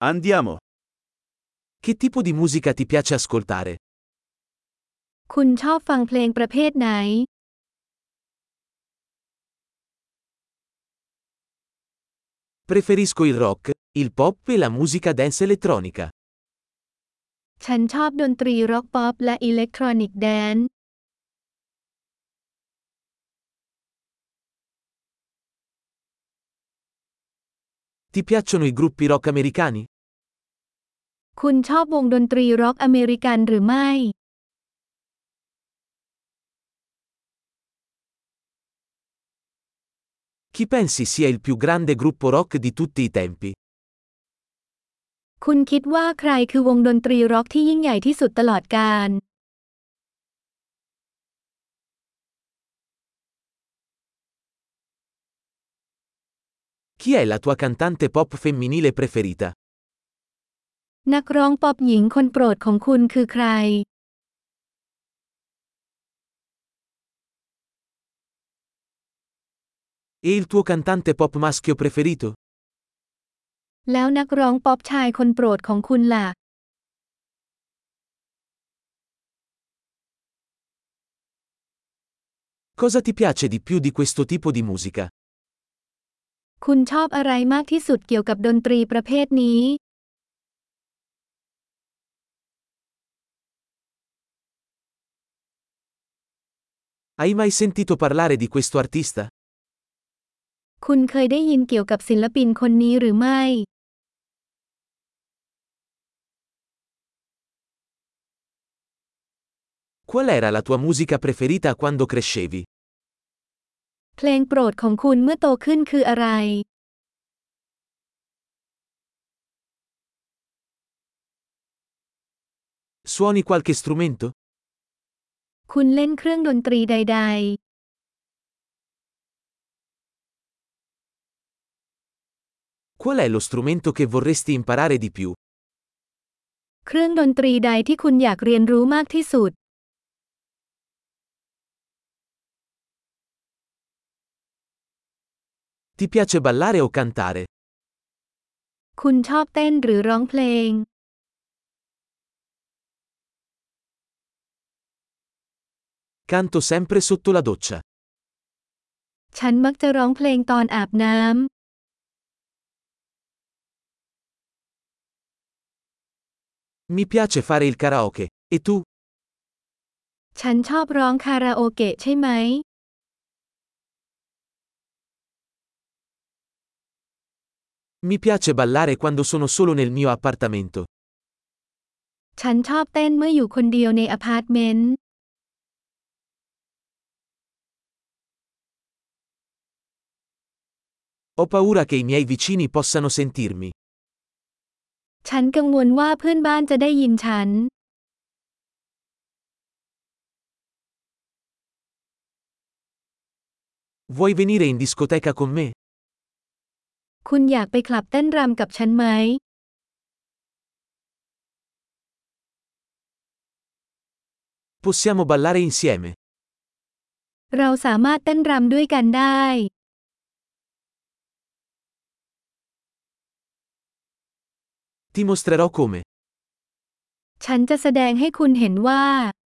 Andiamo. Che tipo di musica ti piace ascoltare? คุณชอบฟังเพลงประเภทไหน Preferisco il rock, il pop e la musica dance elettronica. ฉันชอบดนตรีร็อกป๊อปและอิเล็กทรอนิกแดนซ์ Ti piacciono i gruppi rock americani? คุณชอบวงดนตรีร็อกอเมริกันหรือไม่ Chi pensi sia il più grande gruppo rock di tutti i tempi? คุณคิดว่าใครคือวงดนตรีร็อกที่ยิ่งใหญ่ที่สุดตลอดกาล Chi è la tua cantante pop femminile preferita? นักร้องป๊อปหญิงคนโปรดของคุณคือใคร E il tuo cantante pop maschio preferito? แล้วนักร้องป๊อปชายคนโปรดของคุณล่ะ Cosa ti piace di più di questo tipo di musica? คุณชอบอะไรมากที่สุดเกี่ยวกับดนตรีประเภทนี้ Hai mai sentito parlare di questo artista? คุณเคยได้ยินเกี่ยวกับศิลปินคนนี้หรือไม่ Qual era la tua musica preferita quando crescevi? เพลงโปรดของคุณเมื่อโตขึ้นคืออะไร Suoni qualche strumento? คุณเล่นเครื่องดนตรีใด Qual è lo strumento che vorresti imparare di più? ๆ เครื่องดนตรีใดที่คุณอยากเรียนรู้มากที่สุด Ti piace ballare o cantare? คุณชอบเต้นหรือร้องเพลง Canto sempre sotto la doccia. ฉันมักจะร้องเพลงตอนอาบน้ำ Mi piace fare il karaoke. E tu? ฉันชอบร้องคาราโอเกะใช่ไหม Mi piace ballare quando sono solo nel mio appartamento. ฉันชอบเต้นเมื่ออยู่คนเดียวในอพาร์ตเมนต์ Ho paura che i miei vicini possano sentirmi. ฉันกังวลว่าเพื่อนบ้านจะได้ยินฉัน Vuoi venire in discoteca con me? คุณอยากไปคลับเต้นรำกับฉันไหม Possiamo ballare insieme. เราสามารถเต้นรำด้วยกันได้ Ti mostrerò come. ฉันจะแสดงให้คุณเห็นว่า